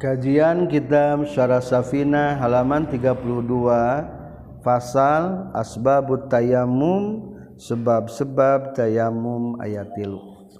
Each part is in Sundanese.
Kajian Kitab Syarah Safinah halaman 32, Fasal Asbabut Tayammum, sebab-sebab tayamum ayat 3.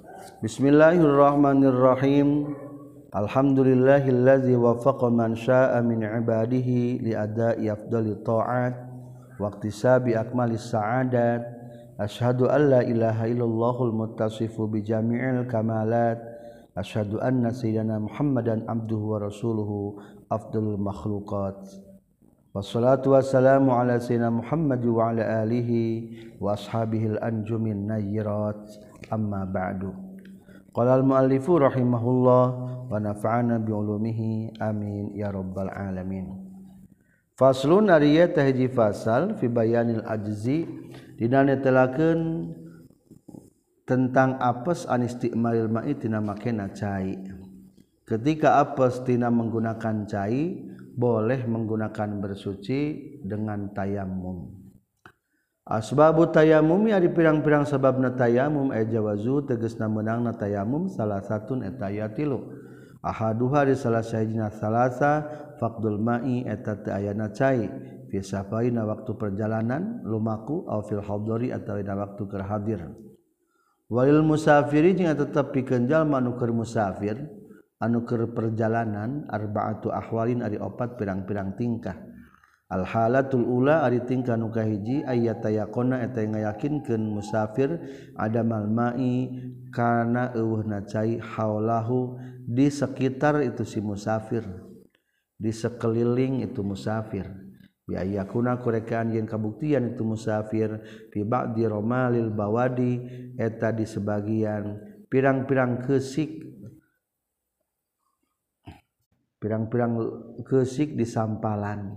Bismillahirrahmanirrahim. Alhamdulillahillazi wafaqa man syaa'a min ibadihi li ada'i afdhalit ta'at wa iktisabi akmalis sa'adat. Asyhadu an la ilaha illallahul muttasifu bi jami'il kamalat. Asyhadu anna sayyidina Muhammadan abduhu wa rasuluhu afdalul makhluqat. Wassalatu wassalamu ala sayyidina Muhammad wa ala alihi wa ashabihil anjumin nayyirat. Amma ba'du. Qala al-muallifu rahimahullah wa nafa'ana bi ulumihi amin ya rabbal alamin. Faslun ariyat tahji fasal fi bayanil ajzi dina netelakeun tentang apes an isti'malil ma'i tina makena cai. Ketika apes tina menggunakan cai, boleh menggunakan bersuci dengan tayamum. Asbabut tayamum ari pirang-pirang sababna tayamum jawazu tegasna meunangna tayamum salah satun eta aya 3. Ahaduha di salah sahijina salasa faqdul ma'i eta teu ayana cai fi safaina waktu perjalanan lumaku au fil hadari atawa dina waktu keur hadir. Walil musafiri jeung tetep pikeun jalma anu keur musafir anu keur perjalanan arba'atu ahwalin ari 4 pirang-pirang tingkah. Al halatul ula ari tingkah nu kahiji ayatayaqona eta ngayakinkeun musafir adamal ma'i kana eueuhna cai haulahu di sekitar itu si musafir, di sekeliling itu musafir. Bi ayakuna kurekaan yen kabuktian itu musafir fi ba'di romalil bawadi eta di sebagian pirang-pirang keusik di sampalan.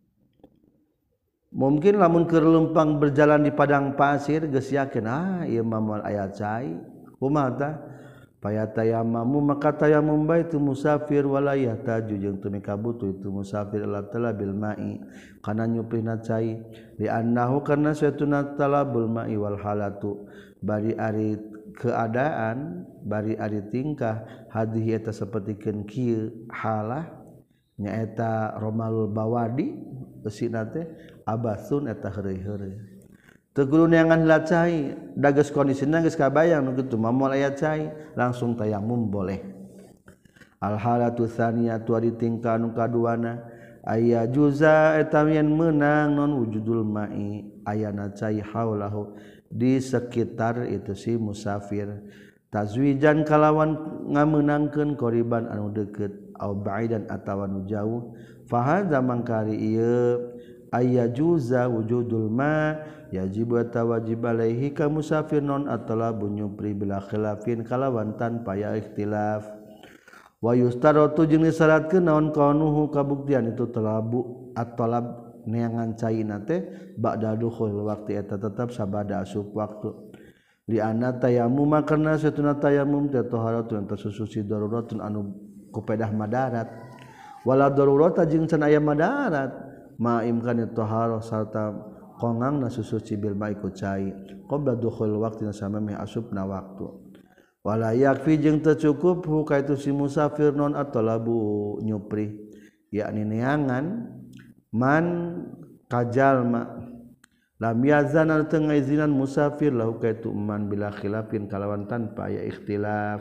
Mungkin lamun keur lempang berjalan di padang pasir geus yakin ieu mah moal aya cai kumaha tah payatayamamu maka tayamum bae tu musafir wala yahtaju jeung teu mikabutuh itu musafir ila talabil ma'i kana nyuplihna cai li annahu kana satuna talabul ma'i wal halatu bari ari keadaan bari ari tingkah hadhihi eta sapertikeun kieu halah nyaeta romalul bawadi eusina teh abasun eta heureuy-heureuy teu kudu neangan heula cai da geus kondisina geus kabayang nu kitu mah moal aya cai langsung tayamum boleh. Al halatu tsaniyatu ari tingkah nu kaduana aya juza eta yen meunang non wujudul ma'i ayana cai haulahu di sekitar itu si musafir tazwijan kalawan ngameunangkeun qoriban anu deukeut au ba'idan atawa nu jauh fahadza mangkari ieu aya juza wujudul ma yajibu tawajib alaihi ka musafir non atalabu nyupri bila khilafin kalawan tanpa ya ikhtilaf wa yustaratu jeung disyaratkeun naon kaunuhu kabuktian itu talabu at-talab neangan caina teh ba'da dukhul waqti eta tetap sabada asup waktu li anna tayammum karna satuna tayammum teh taharatun tasusuci daruratun anu kupedah madarat wala darurata jeung can aya madarat ma'imkan taharah sarta qongangna susuci bil ma'i ku cai qabla dukhul waqtina samemeh asupna waktu wala yakfi jeung teu cukup hu ka itu si musafir non atalabu nyupri yakni neangan man kajalma lam yazan al teu ngaizinan musafir lahu ka itu man bila khilafin kalawan tanpa aya ikhtilaf.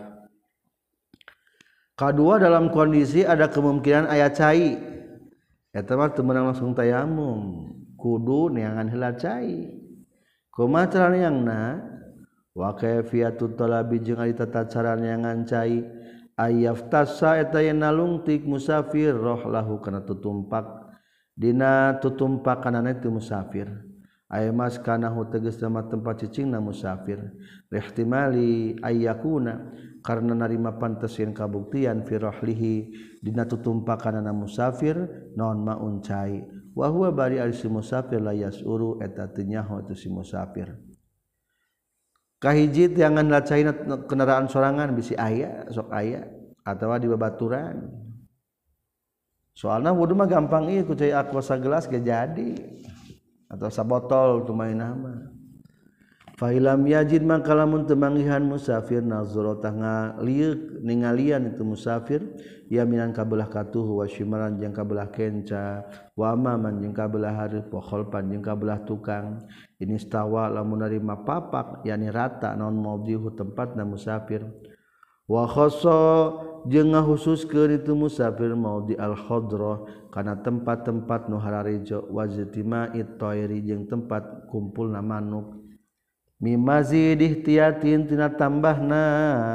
Kedua dalam kondisi ada kemungkinan aya cai eta mah teu meunang langsung tayamum kudu neangan heula cai kumaha cara neangna wa kayfiyatut talabi jeung ari tata cara neangan cai ayaftasa eta yen nalungtik musafir rohlahu kana tutumpak dina tutumpakanana itu musafir aya mas kana hu tegasna mah tempat cicingna musafir ihtimali ayyakuna karena narima pantes yen kabuktian fi rahlihi dina tutumpakanana musafir naon maun cai wa huwa bari ari si musafir la yasuru eta teu nyaho itu si musafir kahiji tiangan la caina kendaraan sorangan bisi aya sok aya atawa di babaturan soalna wudu mah gampang ieu ku cai aqua sagelas ge jadi atau sabotol tu mainah mah Fahilam yajid maka lamun temanggihan musafir nazara tangga liuk ningalian itu musafir yaminan kabelah katuh wa shimalan jeung kabelah kenca wa amaman jeung kabelah hareup wa khalfan jeung kabelah tukang ini stawa lamun narima papak yakni rata naon maudhihu tempatna musafir wa khassa jeung ngahususkeun itu musafir maudhi al khadra kana tempat-tempat nu hararejo wa ztima'it thairi jeung tempat kumpulna manuk mimazid ihtiyatin tina tambahna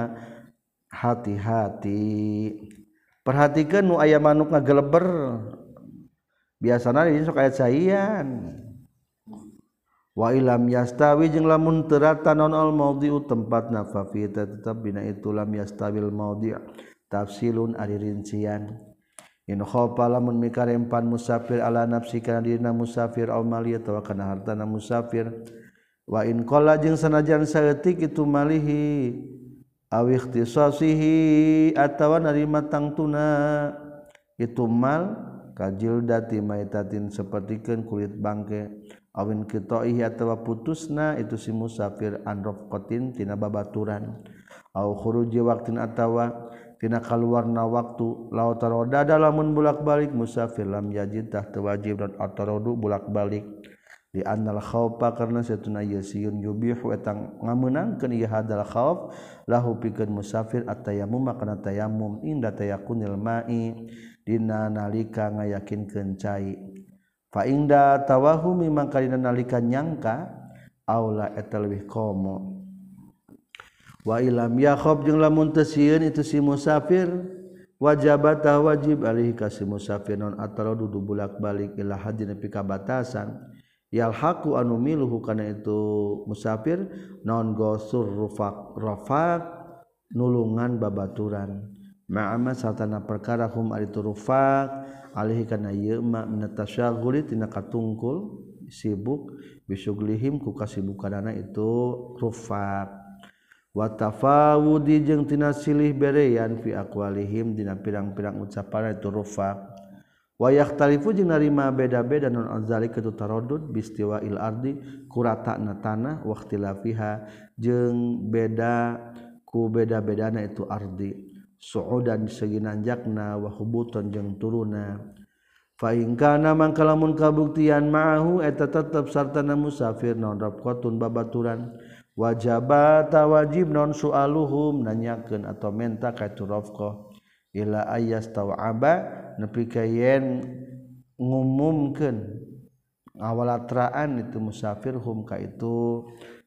hati-hati perhatikan nu aya manuk ngageleber biasana ieu sok aya caian wa ilam yastawi jeung lamun teu rata naon al maudhi'u tempatna fa fi tetep dina itu lam yastawil maudhi' tafsilun ari rincian in khofa lamun mikarempan musafir ala nafsi kana dina musafir aw mali atawa kana hartana musafir wa in qala jeung sanajan saeutik itu malihi aw ikhtisasihi atawa narima tangtuna itu mal kajildati maitatin sapertikeun kulit bangke awin qita'ihi atawa putusna itu si musafir an rafqatin tina babaturan aw khuruji waqtin atawa tina kaluarna waktu law taroda lamun bulak-balik musafir lam yajid tah wajib dan atarodu bulak-balik di annal khaufa karna satuna yasiyun yubihu etang ngameunangkeun ieu hadal khauf lahu pikeun musafir at-tayammum kana tayammum inda tayakunil ma'i dina nalika ngayakinkeun cai fa inda tawahumi mangka dina nalika nyangka aula eta leuwih komo wa ilam yakhab jeung lamun teu sieun itu si musafir wajibata wajib alaihi ka si musafir non atarodu bulak-balik ila hadina pika batasan yalhaqu anu miluhu kana itu musafir naon gosur rafaq nulungan babaturan ma'ama satana perkara hum ari rufaq alaihi kana ieu ma minatasyaguli tina katungkul sibuk bisuglihim ku kasibukanana itu rufaq wa tafawudi jeung tina silih berean fi aqwalihim dina pirang-pirang ucapan itu rufaq wa yakhtalifu jeung narima beda-beda non azalika tu taraddud bistiwa'il ardi kuratana tanah wa ikhtilafiha jeung beda ku beda-bedana itu ardi su'udan segi nanjakna wa hubutan jeung turuna fa in kana mangka lamun kabuktian ma'ahu eta tetep sartana musafir naon rafqatun babaturan wajibata wajib non su'aluhum nanyakeun atau menta ka itu rafqah ila ayas tawaba nepi ka yen ngumumkeun ngawalatraan itu musafir hum ka itu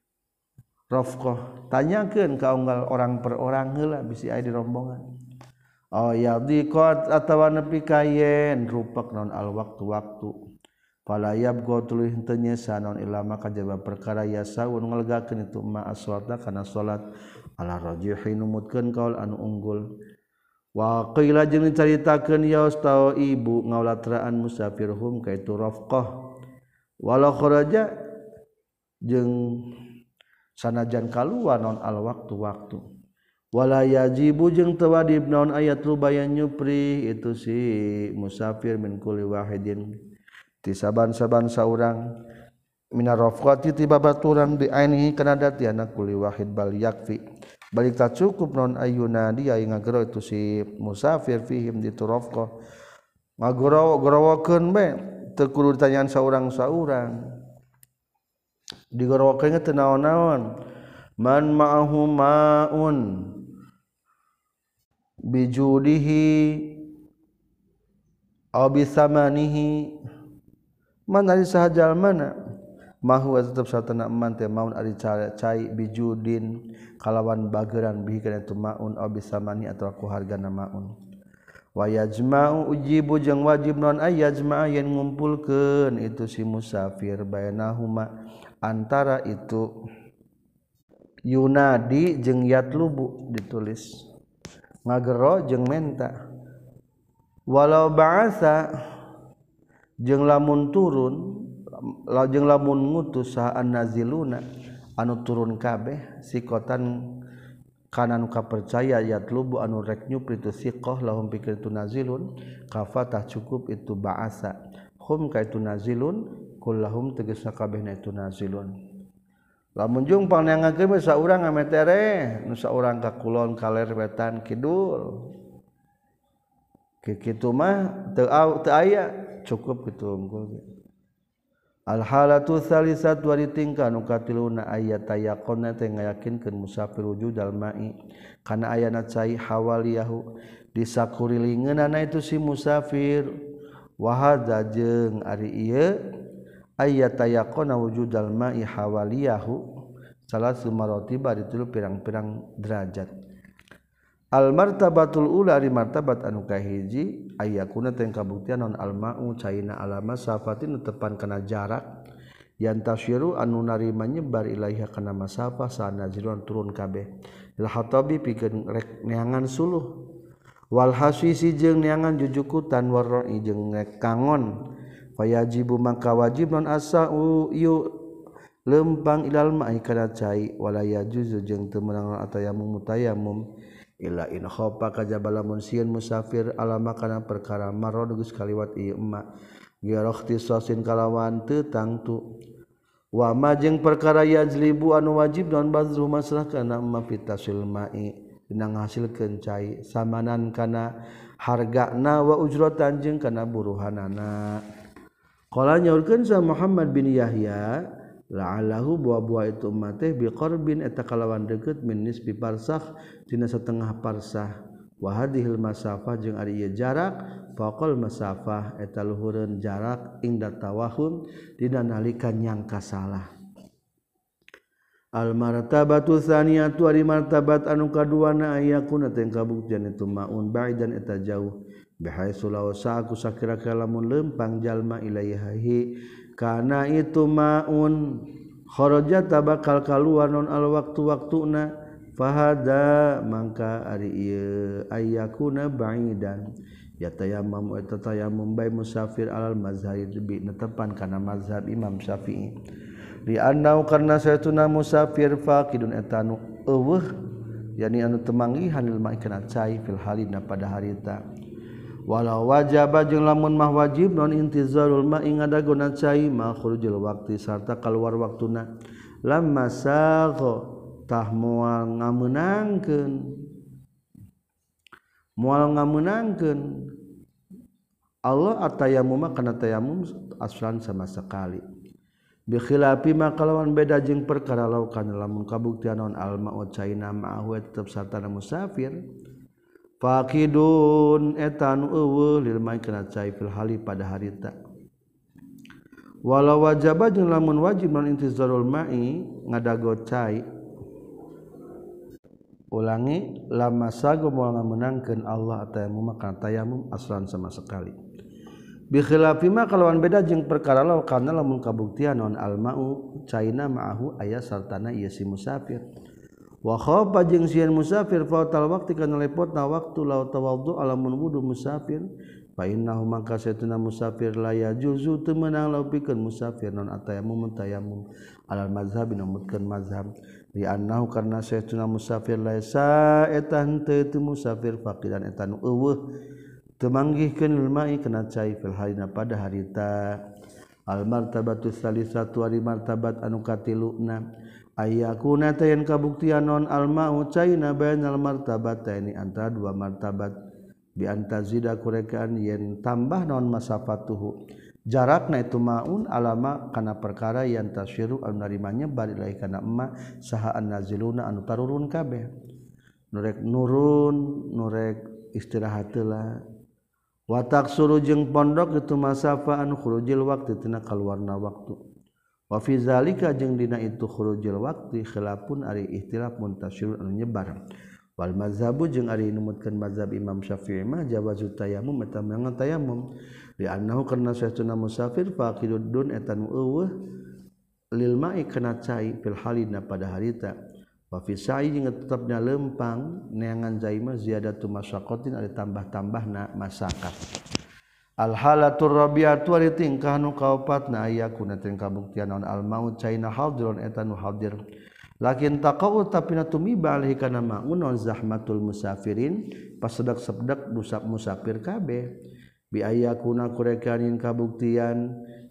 rafqah tanyakeun ka unggal orang per orang heula bisi aya di rombongan oh yadiqat atawa nepi ka yen rupak naon al waktu fala yabqa tuluy henteu nyesa naon ilama kajaba perkara yasaun ngalegakeun itu ma as-salata kana salat ala rajihi numutkeun kaul anu unggul wa qila jeung dicaritakeun yaustau ibu ngawlatraan musafirhum ka itu rafqah wala kharaja jeung sanajan kaluar naon al waktu wala yajibu jeung teu wajib naon ayat rubayan nyupri itu si musafir min kulli wahidin ti saban-saban saurang minar rafqati ti babaturan bi ainihi kana datiana kulli wahid bal yakfi balik tak cukup non ayuna dia yang ngagero itu si musafir fihim di turafqah ngagoro-gorowokeun be teu kudu ditanyaan saurang-saurang digorowokeun teh naon-naon man ma'ahu ma'un bijudihi aw bisamanihi man ari sahajal mana mahu tetep satana eman teh maun ari cai bijudin kalawan bageran bihi kana tu maun aw bisamani atawa ku hargana maun wa yajma'u ujibu jeung wajib non ayajma'a yen ngumpulkeun itu si musafir bainahuma antara itu yunadi jeung yatlubu ditulis ngagero jeung menta walau ba'asa jeung lamun turun lajeng lamun ngutus sahaan naziluna anu turun kabeh sikotan kana nu kapercaya yatlubu anu rek nyupri tu siqah lahum pikir tu nazilun kafatah cukup itu ba'asa hum ka itu nazilun kullahum tegasna kabehna itu nazilun lamun jungpang neangakeun mah saurang ametere nu saurang ka kulon kaler wetan kidul kitu mah teu aya cukup kitu unggul al halatu tsalisatu wa tingkah nu katiluna ayat tayaqonna teh ngayakinkeun musafir wujudal ma'i kana ayana cai hawaliyahu di sakurilingeunana itu si musafir wa hadza jeung ari ieu ayat tayaqonna wujudal ma'i hawaliyahu salasu maratiba ditilu pirang-pirang derajat al martabatul ula ari martabat anu kahiji ayakuna teh kabuktian non al ma'u caina alama safatin tepan kana jarak yang tasyiru anu narima nyebar ilaiha kana masafah sanazilun turun kabeh il hatabi pikeun rek neangan suluh wal hasisi jeung neangan jujukutan waroi jeung rek kangon fayajibu maka wajib non asau yu lempang ilal ma'i kana cai wala yajuzu jeung teu meunang atayamum mutayamum illa in khofa kajaba lamun sieun musafir alama kana perkara marad geus kaliwat ieu emma girokhtisasin kalawan teu tangtu wa ma jeung perkara yajlibu anu wajib non bazru masalah kana emma fitasil ma'i dina ngahasilkeun cai samanan kana hargana wa ujratan jeung kana buruhanana qala nyaurkeun sa Muhammad bin Yahya la'allahu buah-buah itu mate biqarbin eta kalawan deukeut min nisbi parsakh tina setengah parsah wa hadhil masafah jeung ari ieu jarak faqal masafah eta luhureun jarak ingda tawahum dina nalika nyangka salah al martabatu tsaniyatu ari martabat anu kaduana ayakuna teh kabuktian itu maun baidan eta jauh bihaitsu law sa'aku sakira-kira lamun lempang jalma ilaihi kana itu maun kharaja tabakal kaluar non al waktu-waktuna fahada mangka ari ieu ayakuna baidan ya tayammum eta tayammum bai musafir alal mazhab bi netepan kana mazhab Imam Syafi'i li annau karna saytuna musafir faqidun eta nu eueuh yani anu temanggihan lil ma'i kana cai fil halina pada harita walau wajib jeung lamun mah wajib non intizarul ma'i ngadagona cai ma khurujul waqti sarta kaluar waktuna lamma sagha tah moal ngameunangkeun Allah atayamum kana tayamum aslan sama sekali bi khilafi ma kalawan beda jeung perkara law kana lamun kabuktian non al ma'u caina ma'hu tetep sartana musafir faqidun etan eueuh lil ma'i kana cai fil hali pada harita walau wajaba jeung lamun wajib non intizarul ma'i ngadago cai ulangi lama sago moal ngameunangkeun Allah tayamum kana tayamum aslan sama sekali bi khilafi ma kalawan beda jeung perkara law kana lamun kabuktian non al ma'u caina ma'hu aya sartana ieu si musafir wa khafa jeung sieun musafir fautal waqti kana lepotna waktu law tawaddu alamun wudu musafir fa innahu maka satuna musafir la yajuzu teu meunang law pikeun musafir non atayamum tayamum alal mazhab namutkeun mazhab li annahu karna satuna musafir laisa eta henteu musafir faqidan eta nu eueuh teu manggihkeun lil ma'i kana cai fil halina pada harita al martabatu tsalisatu ari martabat anu katiluna ayakuna tayan kabuktian non al ma'u caina bainal martabataini antara dua martabat bi antazida kurekaan yen tambah non masafatuhu jarakna itu maun alama kana perkara yang tasyiru anu narimanya bari lahi kana emma saha annaziluna anu tarurun kabeh nurek nurun nurek istirahat heula wa taksuru jeung pondok itu masafa anu khurujil waqti tina kaluarna waktu wa fi zalika jeung dina itu khurujil waqti khilafun ari ikhtilaf muntasyir anu nyebar wal mazhabu jeung ari numutkeun mazhab Imam Syafi'i mah jawazu tayammum eta meunang tayammum li annahu karna saytuna musafir faqidun eta nu eueuh lil ma'i kana cai fil halina pada harita wa fi sa'i jeung tetepna lempang neangan cai mah ziyadatu masyaqqatin ari tambah-tambahna masyaqat al halatur rabi'atu ari tingkah nu kaopatna ayakuna teh kabuktian naon al maut caina hadirun eta nu hadir lakin taqau tapi natumiba alaihi kana maun zahmatul musafirin pasedak-sedak musafir kabeh bi ayakuna kurekanin kabuktian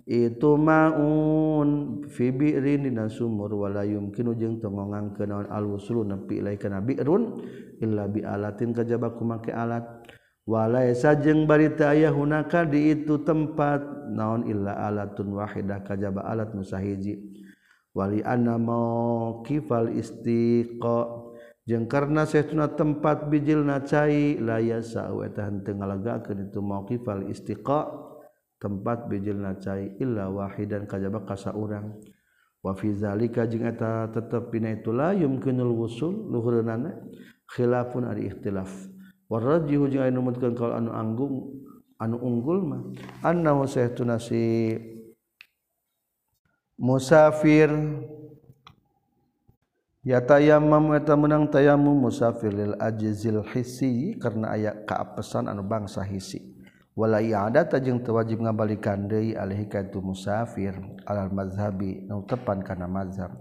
itu maun fi bi'rin dina sumur wala yumkinu jeung teu ngongangkeun naon al-wusulu nepi ilai kana bi'run illa bi alatin kajaba ku make alat wala sajeng bari teu aya hunaka di itu tempat naon illa alatun wahidah kajaba alat nu sahiji wali anna mauqifal istiqa jeung karna saestuna tempat bijilna cai la yasau eta henteu ngalagakeun itu mauqifal istiqa tempat bijilna cai illa wahidan kajaba ka saurang wa fi zalika jeung eta tetep dina itu la yumkinul wusul luhureunana khilafun ari ikhtilaf warajjihu jeung anu numutkeun kaul anu unggul mah annahu sahtuna si musafir yatayammam eta meunang tayammum musafir lil ajzil hissi karena aya kaapesan anu bangsa hisi wala i'adat jeung teu wajib ngabalikeun deui alaihi ka tu musafir alal mazhabi nu tepan kana mazhab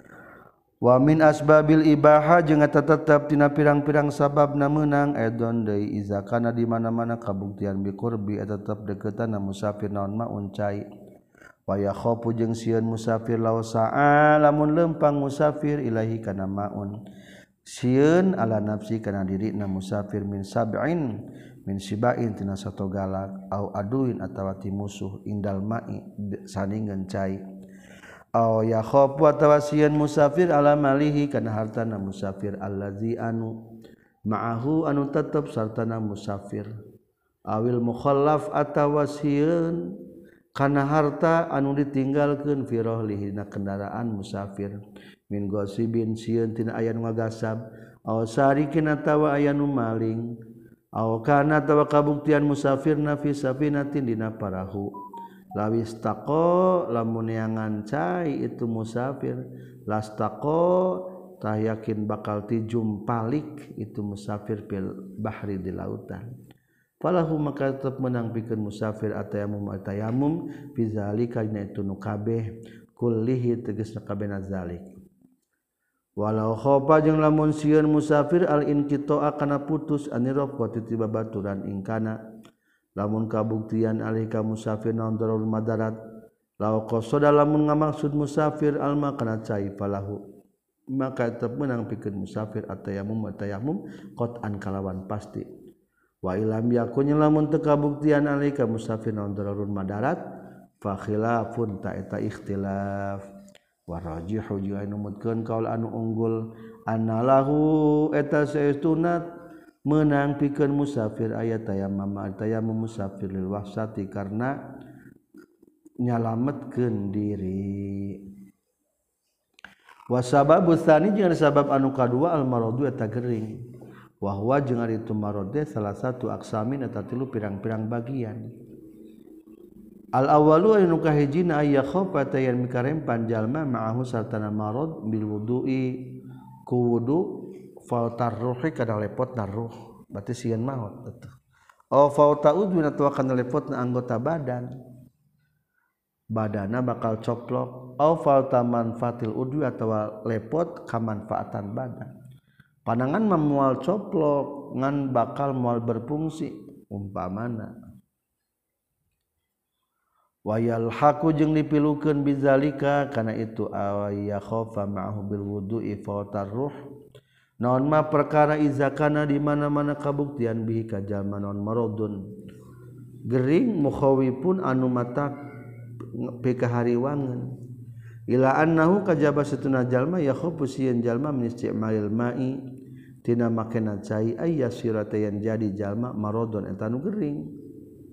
wa min asbabil ibahah jeung eta tetep tina pirang-pirang sababna meunang edon deui iza kana di mana-mana kabuktian bi qurbi eta tetep deukeutanna musafir naon ma uncai wa yakhafu jeung sieun musafir law sa'a lamun lempang musafir ilahi kana maun sieun ala nafsi kana dirina musafir min sab'in min sibain tina sato galak au aduin atawa ti musuh indal ma'i saningeun cai au yakhafu atawa sieun musafir ala malihi kana hartana musafir allazi anu ma'ahu anu tetep sartana musafir awil mukhallaf atawa sieun kana harta anu ditinggalkeun fi rahlihi na kendaraan musafir min gosibin sieun tina aya nu ngagasab au sarikin atawa aya nu maling aw kana tawa kabuktian musafirna fi safinatin dina parahu lawis taqo lamun neangan cai itu musafir lastaqo tah yakin bakal tijumpalik itu musafir fil bahri di lautan falahu maka tetep menang pikeun musafir atayamum fi zalika dina itu nu kabeh kullihi tegasna kabehna zalik walau khofa jeung lamun sieun musafir al inqita'a kana putus aniraqati ti babaturan ingkana lamun kabuktian alika musafir naon darul madarat law qasada lamun ngamaksud musafir alma kana cai falahu maka tetep meunang pikeun musafir atayamum qat'an kalawan pasti wa ilam yakun lamun teu kabuktian alika musafir naon darul madarat fa khilafun ta eta ikhtilaf warajihu jeung anu numutkeun kaul anu unggul annalahu eta saestuna meunang pikeun musafir aya tayammum musafir lil wahsati karna nyalametkeun diri wa sababu tsani jeung sabab anu kadua al maradu eta gering wa huwa jeung ari itu marad salah satu aksamin eta tilu pirang-pirang bagian al awalu anu kahijina aya khofa tayan mikarempan jalma ma'ahu sartana marad bil wudu'i ku wudu fa tarruhi kada lepot naruh berarti sieun maot atuh aw fa ta'udun atawa kana lepotna anggota badana bakal coplok aw fa manfaatil udwi atawa lepot ka manfaatan badan panangan memual coplok ngan bakal moal berfungsi umpamana wayal haku jeung dipilukeun bizalika kana itu awaya khofa ma'ahu bil wudu'i fa tarruh naon ma perkara izakana di mana-mana kabuktian bihi ka jalma naon maradun gering mukhawifun anu mata pikahariwangeun ila annahu kajaba satuna jalma ya khofu sieun jalma min isti'malil ma'i tina makena cai ayyasirata yang jadi jalma maradun eta nu gering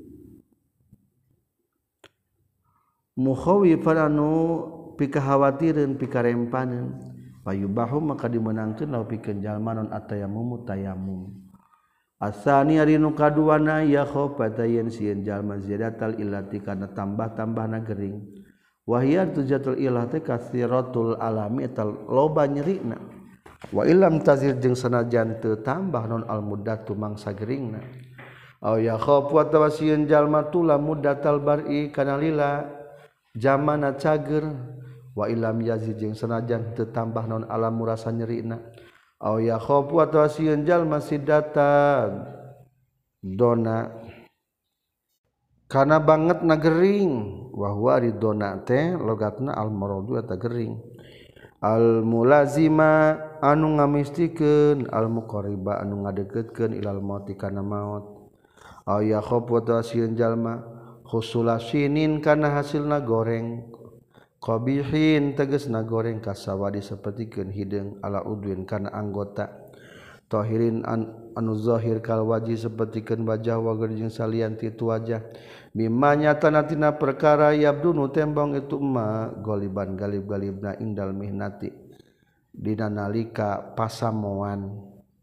mukhawifan anu pikahawatireun pikarempaneun payubahu maka dimenangkeun law pikeun jalma non atayammum tayammum asani ari nu kaduana ya khofata yen sieun jalma ziyadatal illati kana tambah-tambahna gering wa hiya tujatul illati katsiratul alami tal loba nyerina wa illam tazid jeung sanajan teu tambah non al muddatu mangsa geringna aw ya khofu atawa sieun jalma tula muddatal bar'i kana lila zamana cager wa ilam yazid jeung sanajan teu tambah naon alam rasa nyerina aw ya khofu atawa sieun jalma sidatan dona kana banget nagering wa huwa ridona teh logatna al maradu eta gering al mulazima anu ngamistikeun al muqarriba anu ngadeukeutkeun ilal mauti kana maut aya khofu tasieun jalma khusulasinin kana hasilna goreng qabihin tegasna goreng kasawadi sapertikeun hideung ala udwin kana anggota tahirin anu zahir kal wajih sapertikeun wajah wa jeung salian ti tu wajah mimma nyatana tina perkara yabdunu tembong itu ma goliban galib-galibna indal mihnati dina nalika pasamoan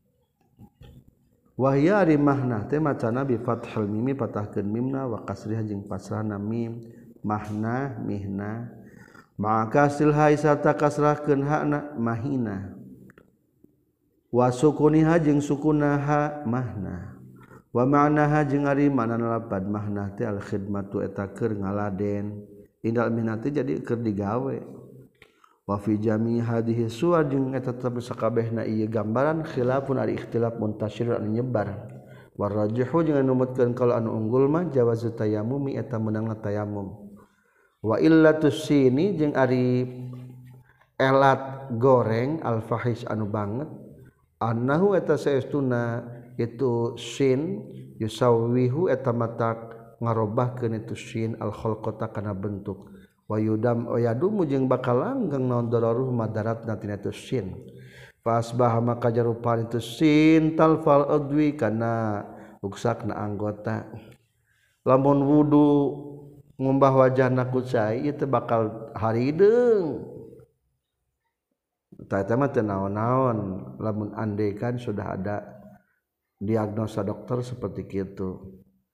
wahya ari mahna teh macana bi fathul mimi patahkeun mimna wa kasriha jeung pasrahna mim mahna mihna maka silha isata kasrahkeun hakna mahina wa sukuniha jeung sukunaha mahna wa ma'naha jeung ari makna lapad mahnah teh al khidmatu eta keur ngaladen indal mihnati jadi keur digawe wa fi jami hadhihi suwar jeung eta tetep sakabehna ieu gambaran khilafun ari ikhtilaf muntasyir anu nyebar war rajihu jeung anu numutkeun kalau anu unggul mah jawazu tayammumi eta meunangna tayammum wa illatus sini jeung ari elat goreng al fahish anu banget annahu eta saestuna itu sin yusawihu eta matak ngarobahkeun itu sin al khalqata kana bentuk wa yudam yadumu jeung bakal langgeng naon dararuh madaratna tina itu sin fa asbaha maka jarupan itu sin talfal adwi kana ruksakna anggota lamun wudu ngumbah wajahna ku cai ieu teh bakal harideung eta mah teu naon-naon lamun andekan sudah ada diagnosa dokter seperti itu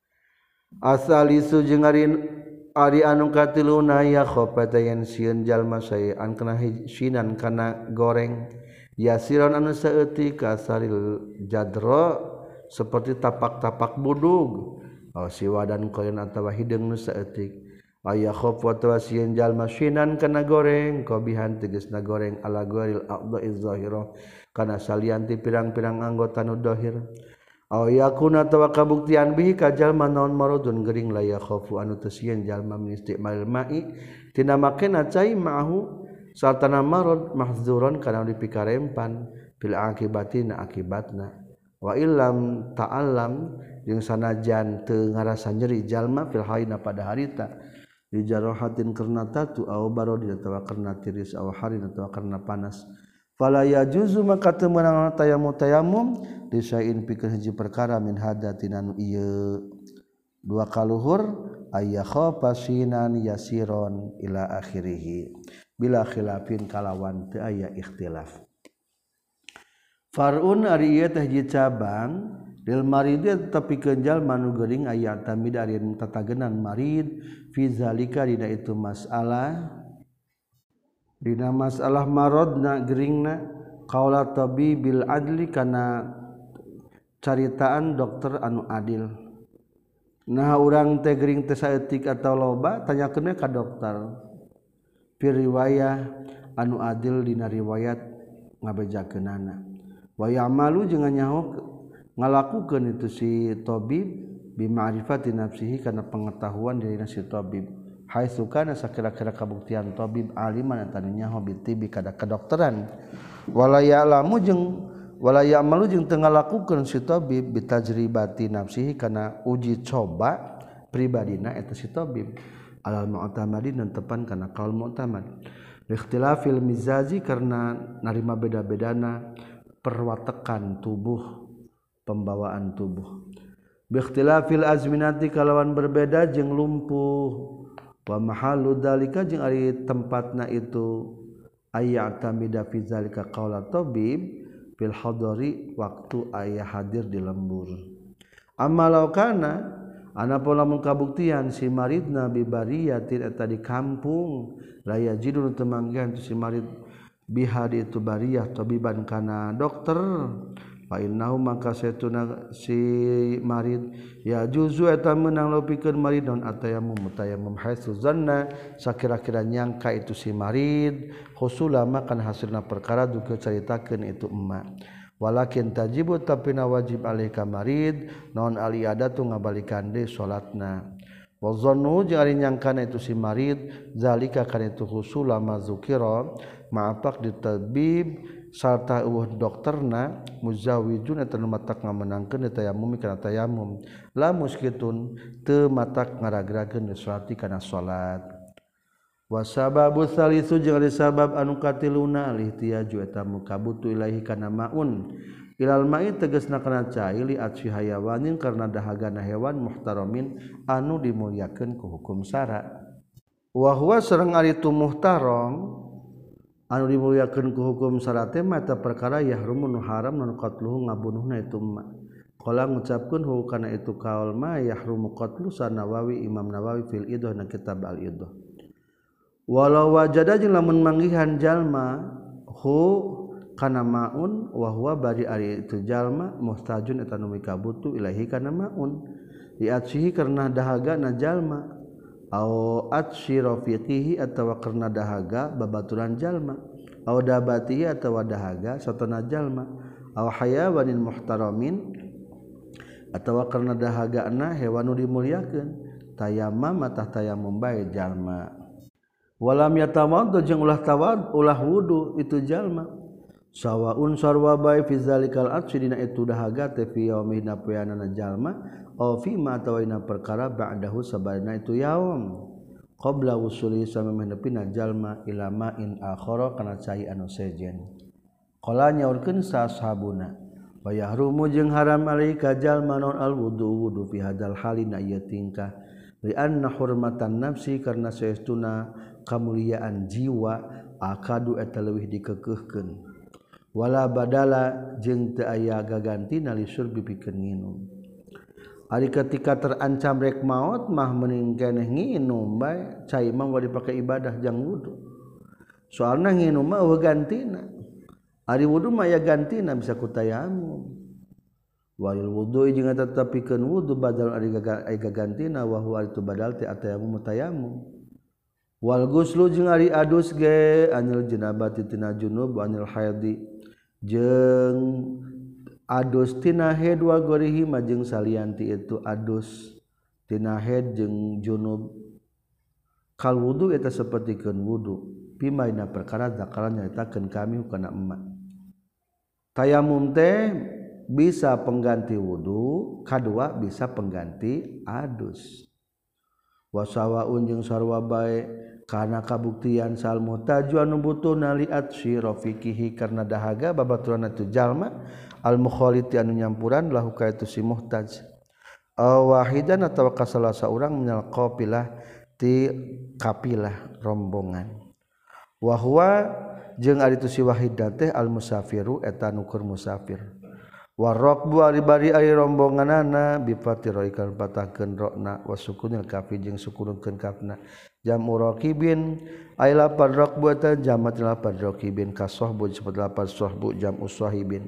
asalisu jeung ari anu katiluna ya khofatayan sieun jalma saean kana hijinan kana goreng yasiron anu saeutik kasaril jadra seperti tapak-tapak budug siwadan koyon atawa hideung nu saeutik aya khofata sieun jalma sinan kana goreng qabihan tegasna goreng ala ghairil a'dha'iz zahira kana salianti pirang-pirang anggota nu zahir aw yakuna tawa kabuktian bihi ka jalma naon maradun gering la yakhafu anu teu sieun jalma min istimal ma'i tina makena cai ma'hu sartana marad mahzuran kana dipikarempan bil akibatina akibatna wa illam ta'allam jeung sanajan teu ngarasa nyeri jalma fil haina pada harita di jarahatin karna tatu aw barodi atawa karna tiris aw harin atawa karna panas fala yajuzu maka teu meunang tayammum disain pikeun hiji perkara min hadatin anu ieu dua kaluhur aya khafasinan yasiron ila akhirih bila khilafin kalawan teu aya ikhtilaf farun ari ieu teh hiji cabang lil marid tepikeun jalma nu geuring aya tamid ari tatagenan marid fi zalika dina itu masalah dina masalah maradna geringna qaula tabibil adli kana caritaan dokter anu adil nah urang teh gering teh saeutik atawa loba tanyakeun ka dokter fi riwayah anu adil dina riwayat ngabejakeunana wa ya'malu jeung nyaho ngalakukeun itu si tabib bi ma'rifati nafsihi kana pengetahuan dina si tabib haitsu kana sakira-kira kabuktian tabib aliman eta nyaho bitibi kada kedokteran wala ya'lamu jeung wala ya'malu jeung teu ngalakukeun si tabib bitajribati nafsihi kana uji coba pribadina eta si tabib alal mu'tamadin tepan kana qaul mu'tamad ikhtilafil mizazi karena narima beda-bedana perwatekan tubuh pembawaan tubuh bi ikhtilafil azminati kalawan berbeda jeung lumpuh wa mahallu dzalika jeung ari tempatna itu ayyatamida fi zalika qaula tabib fil hadari waktu aya hadir di lembur amalau kana anapun lamun kabuktian si maridna bi bariyatin eta di kampung la yajidun temanggihan si marid bihadi itu bariyah tabiban kana dokter fa innahu maka satuna si marid ya juzu eta meunang lopikeun marid naon atayammum haitsu zanna sakira-kira nyangka itu si marid husula makan hasilna perkara duke caritakeun itu emma walakin tajibu tapina wajib alaika marid naon aliadatu ngabalikan deui salatna wa zannu jeung ari nyangkana itu si marid zalika kana itu husul ma zukira ma'apak di tabib sarta dokterna muzawijun eta nu matak ngamenangkeun tayamum kana tayamum la muskitun teu matak ngaragrakeun salati kana salat wasababu salisu jeung ari sabab anu katiluna lihtiyaju eta mukabutu ilahi kana maun ilal ma'i tegasna kana cai li atsi hayawanin karna dahagana hewan muhtaramin anu dimulyakeun ku hukum syara wa huwa sareng ari tu muhtaram anu dimulyakeun ku hukum syara teh mata perkara yahrumun haram nu qatluhu ngabunuhna itu ma qala ngucapkeun hu kana itu kaul ma yahrumu qatlu sanawawi Imam Nawawi fil idah na kitab al idah walau wajada jeung lamun manggihan jalma hu kana maun wa huwa bari ari itu jalma mustajun eta nu mikabutu ilahi kana maun diatsihi karna dahagana jalma au atsi rafiqihi atawa karna dahaga babaturan jalma au dabatihi atawa dahaga satana jalma au hayawanin muhtaramin atawa karna dahagana hewan nu dimulyakeun tayammum matah tayammum bae jalma walam yatawaddu jeung ulah wudu itu jalma sawaun sarwa bae fi zalikal atsi dina itu dahaga teh fi yaumina poeana jalma au fi ma tawaina perkara ba'dahu sabarna itu yaum qabla usuli samemeh nepina jalma ila ma'in akhara kana cai anu sejen qala nyaurkeun sahabuna wa yahrumu jeung haram alika jalma non al wudu fi hadzal halina ieu tingkah li anna hurmatan nafsi karna saestuna kamuliaan jiwa akadu eta leuwih dikekeuhkeun wala badala jeung teu aya gagantina li surbi pikeun nginum ari ketika terancam rek maot mah mending keneh nginum bae cai mah gak dipake ibadah jang wudu soalna nginum mah eueuh gantina ari wudu mah aya gantina bisa ku tayamum walil wudu jeung tetep pikeun wudu badal ari gagantina wa huwa itu badal teh atayamum tayamum wal guslu jeung ari adus ge anil janabati tina junub anil haidi jeung adus tina haid wa gorihi majeng salianti itu adus tina haid jeung junub kal wudu eta sapertikeun wudu pimaina perkara zakaran nyaritakeun kami kana emma tayamum teh bisa pengganti wudu kadua bisa pengganti adus wasawaun jeung sarwa bae kana kabuktian sal muhtaju anu butuhna li atsi rafiqihi karna dahaga babaturan itu jalma al mukhaliti anu nyampuran lahu ka itu si muhtaj wahidan atawa kasalasa urang minal qapilah ti kapilah rombongan wa huwa jeung ari itu si wahidan teh al musafiru eta nu keur musafir waraqbu ari ari rombonganana bi fatiraikan patahkeun rokna wasukunil kafi jeung sukunkeun kafna jamu raqibin ay lapad raqbu ta jamat lapad raqibin ka sahbu disebut lapad sahbu jamu sahibin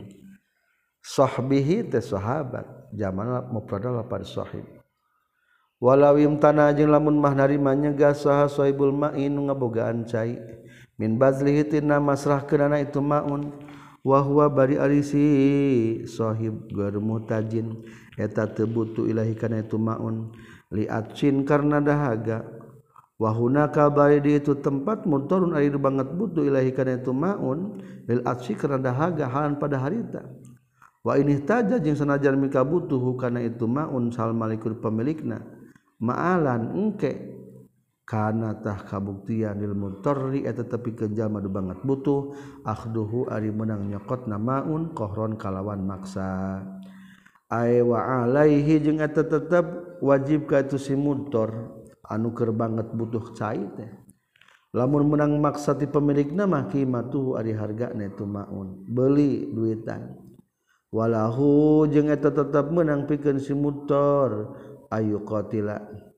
sahbihi te sahabat jamal mufrad lapad sahib walau imtana jeung lamun mah narima nyegah saha sahibul ma'in ngabogaan cai min bazlihi tina masrahkeunana itu maun wa huwa bari alisi sahib gar mutajin eta teu butuh ilahi kana itu maun li atsin karna dahaga wa hunaka bari di itu tempat mutarun ari banget butuh ilahi kana itu maun lil atsi karna dahaga halan pada harita wa ini taja jeung sanajan mika butuh kana itu maun sal malikul pemilikna ma'alan engke kana tah kabuktian lil mutarri eta tepikeun jalma nu banget butuh akhduhu ari meunang nyokotna maun qahron kalawan maksa ay wa alaihi jeung eta tetep wajib ka itu si mutar anu keur banget butuh cai teh lamun meunang maksa ti pemilikna mah qimatuhu ari hargana itu maun beuli duitan walahu jeung eta tetep meunang pikeun si mutar ayu qatila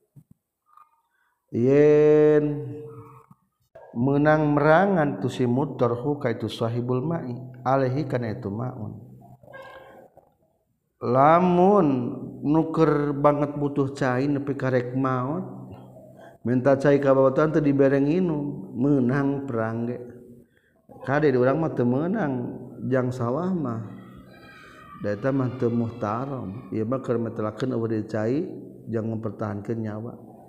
yen menang merangan tu si mutarhu ka itu sahibul ma'i alaihi kana itu maun lamun nuker banget butuh cai nepi karek maot minta cai ka babaturan teu dibereng nginum meunang perang ge kade urang mah teu meunang jang sawah mah da eta mah teu muhtaram ieu mah keur metelakeun eueuh cai jang mempertahankeun nyawa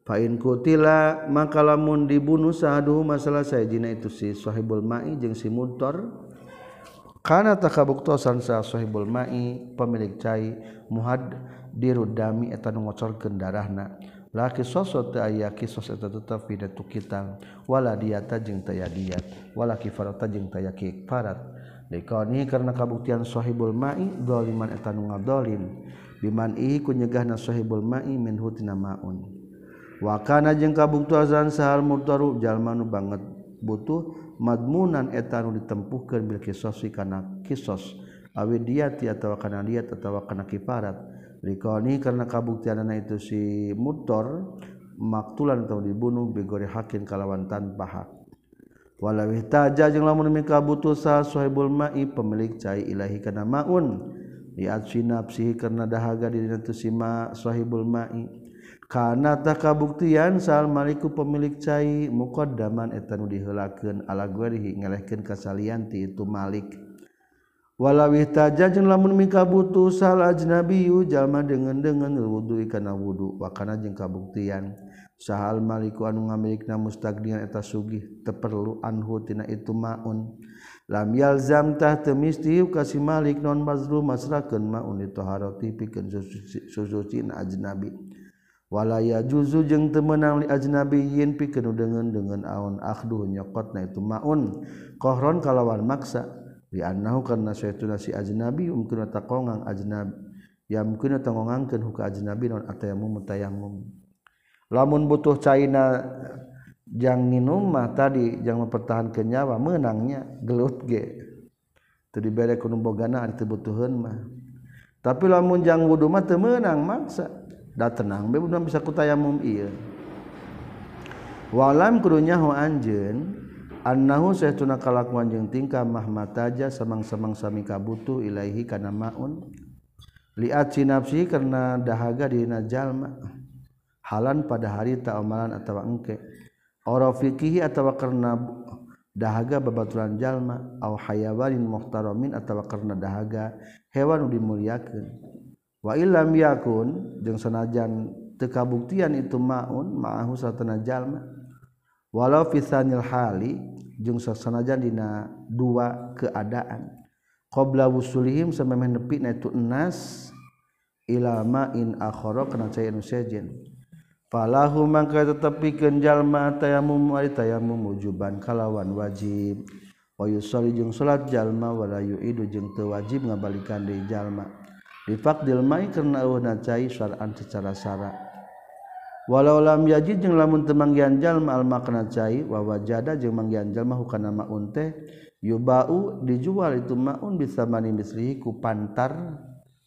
Fa'in kutila maka lamun dibunuh sahaduhu masalah sajina itu si sahibul ma'i jeung si mudtor kana takabuktosan sa sahibul ma'i pemilik cai muhad dirudami eta nu ngocorkeun darahna laki sosot teu aya kisos eta tetep pidatu kital wala diata jeung teu aya diat wala kifarata jeung teu aya kifarat dikauni karena kabuktian sahibul ma'i zaliman eta nu ngadolim biman ihi ku nyegahna sahibul ma'i min hutina maun wakana jeung kabuktuasan sahal murtaru jalma nu banget butuh madmunan eta nu ditempuhkeun bil kisos kana kisos awi diati atawa kana diat atawa kana kifarat likoni karena kabuktianana itu si murtor maktulan atau dibunuh bigori hakin kalawan tanpa hak walau ihtaja jeung lamun mika butuh sah sahibul ma'i pemilik cai ilahi kana maun li'atsi nafsihi karena dahaga dina tu si ma sahibul ma'i kana takabuktian sal maliku pemilik cai muqaddaman eta nu diheulakeun ala guerihi ngelehkeun ka salianti itu malik walaw ihtaja jeung lamun mika butuh sal ajnabiyyu jalma deungeun-deungeun wudu kana wudu wa kana jeung kabuktian sahal maliku anu ngamilikna mustaqdian eta sugih teu perlu anhu tina itu maun lam yalzam tah teu misti ka si malik non mazlum masrakeun maun ditaharati pikeun susucina ajnabi walaya juzu jeung teu meunang li ajnabiyyin pikeun deungeun aun akhdu nyokotna itu maun qahron kalawan maksa li annahu karna saytuna si ajnabi mungkin taqongang ajnab ya mungkin taqongangkeun huka ajnabi non atayammum tayammum lamun butuh caina jang nginum mah tadi jang mempertahankeun nyawa meunangnya gelut ge teu dibere ku nu bogana ari teu butuheun mah tapi lamun jang wudu mah teu meunang maksa da tenang be udah bisa kutayamum ieu walam kudunya ho anjeun annahu saytuna kalakuan jeung tingkah mahmataja samang-samang sami kabutuh ilaihi kana maun liat sinapsi karena dahaga dina jalma halan pada hari ta amalan atawa engke ora fikihi atawa karena dahaga babaturan jalma au hayawanin muhtaramin atawa karena dahaga hewan nu dimuliakeun wa illam yakun jeung sanajan teu kabuktian itu maun ma'ahu satana jalma walau fi tsanil hali jeung sanajan dina dua keadaan qabla wusulihim samemeh nepina itu enas ila ma'in akhara kana cai anu sejen falahu mangka tetepikeun jalma tayammum ari tayammum wujuban kalawan wajib wa yusalli jeung salat jalma wala yu'idu jeung teu wajib ngabalikan deui jalma difaqdil mai karena eueuhna cai syar'an secara syara walau lam yajid jeung lamun teu manggihan jalma al makna cai wa wajada jeung manggihan jalma hukana maun teh yubau dijual itu maun bisa mani mislihi ku pantar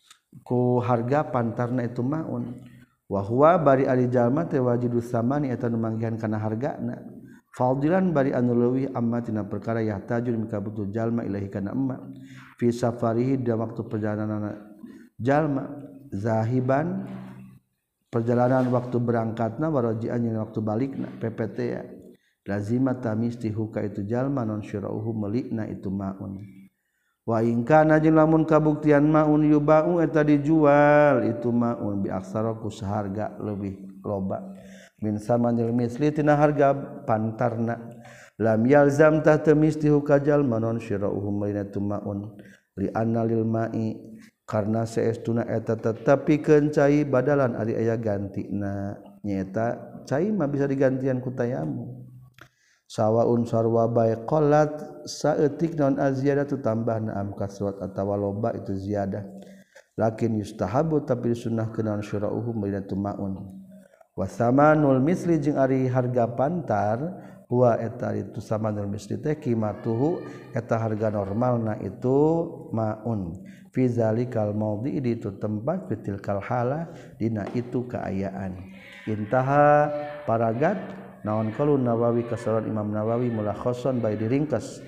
ku harga pantarna itu maun wa huwa bari ari jalma teh wajidus samani eta nu manggihan kana hargana fadilan bari anu leuwih amma tina perkara yahtajun mika butuh jalma ilahi kana emma fi safarihi da waktu perjalananna jalma zahiban perjalanan waktu berangkatna warajian yang waktu balikna PPT ya lazima tamisti huka itu jalma non syirauhu melikna itu maun wa in kana jeung lamun kabuktian maun yubau eta dijual itu maun bi aksara ku saharga leuwih loba min samanil misli tina harga pantarna lam yalzam tah tamisti huka jalma non syirauhu melikna itu maun li anna lil ma'i karena saestuna eta tetepikeun cai badalan ari aya gantina nyaeta cai mah bisa digantian ku tayammum sawaun sarwa bae qalat saeutik naon aziyadatu tambahna am kasrat atawa loba itu ziyadah lakin yustahabu tapi disunnahkeun naon syara'uhu bainatu maun wa samanul misli jeung ari harga pantar huwa eta itu samanul misli teh qimatuhu eta harga normalna itu maun fi zalikal maudhi di itu tempat fitil kalhala dina itu keayaan intaha paragat naon qaulun Nawawi kasaran Imam Nawawi mulakhasan bae diringkas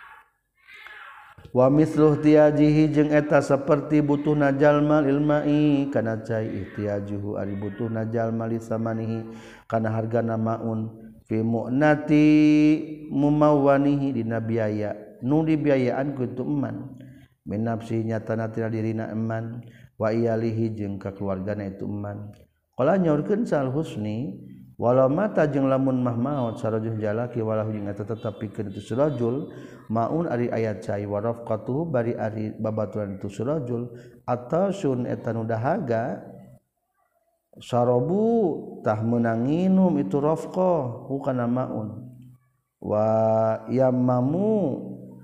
wa misluh tiyajihi jeung eta saperti butuhna jalma ilmai kana cai ihtiyajuhu ari butuhna jalma li samanihi kana hargana maun fi mu'nati mumawwanihi dina biaya nu dibiayaan ku itu eman min nafsi nyatana tina dirina eman wa iyalihi jeung ka keluargana itu eman qala nyaurkeun Sal Husni walau mata jeung lamun mah maot sarajul jalaki walau jeung eta tetep pikeun itu surajul maun ari ayat cai wa rafqatuhu bari ari babaturan itu surajul atasun eta nu dahaga sarabu tah meunang nginum itu rafqah hukana maun wa yammamu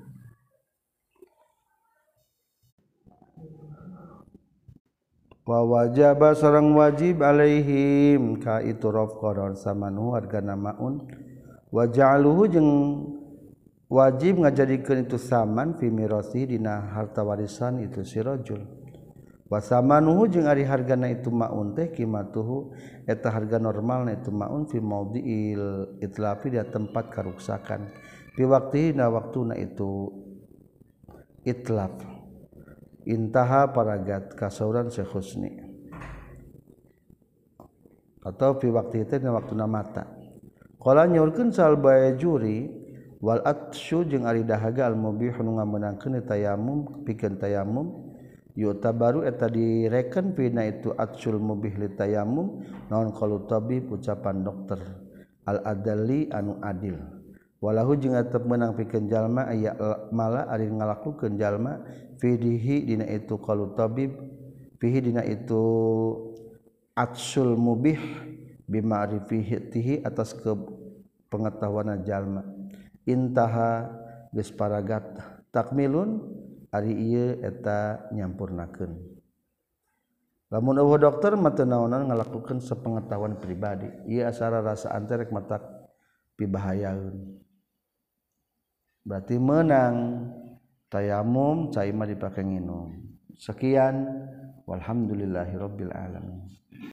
wa wajaba sareng wajib alaihim ka itu rafqah samanu hargana maun wa ja'aluhu jeung wajib ngajadikeun itu saman fi mirasi dina harta warisan itu si rajul wa samanuhu jeung ari hargana itu maun teh qimatuhu eta harga normalna itu maun fi maudhi'il itlafi di tempat karuksakan fi waqtina waktuna itu itlaf intaha paragat kasauran Syekh Husni atau fi waktu itu dina waktuna mata qala nyaurkeun sal bayjuri wal atsyu jeung ari dahaga al mubih nu ngameunangkeun tayamum pikeun tayamum yutabaru eta direken pina itu atsul mubih li tayamum naon qalu tabib ucapan dokter al adali anu adil walahu jeung tetep meunang pikeun jalma aya mala ari ngalakukeun jalma fihi dina itu qalu tabib fihi dina itu atsul mubih bima'rifatihi atas ke pengetahuan jalma intaha geus paragat takmilun ari ieu eta nyampurnakeun lamun eueuh dokter mah teu naonan ngalakukeun sepengetahuan pribadi ieu asara rasaan teh rek matak pibahayaeun berarti menang tayamum cai mah dipake nginum sekian walhamdulillahirabbil alamin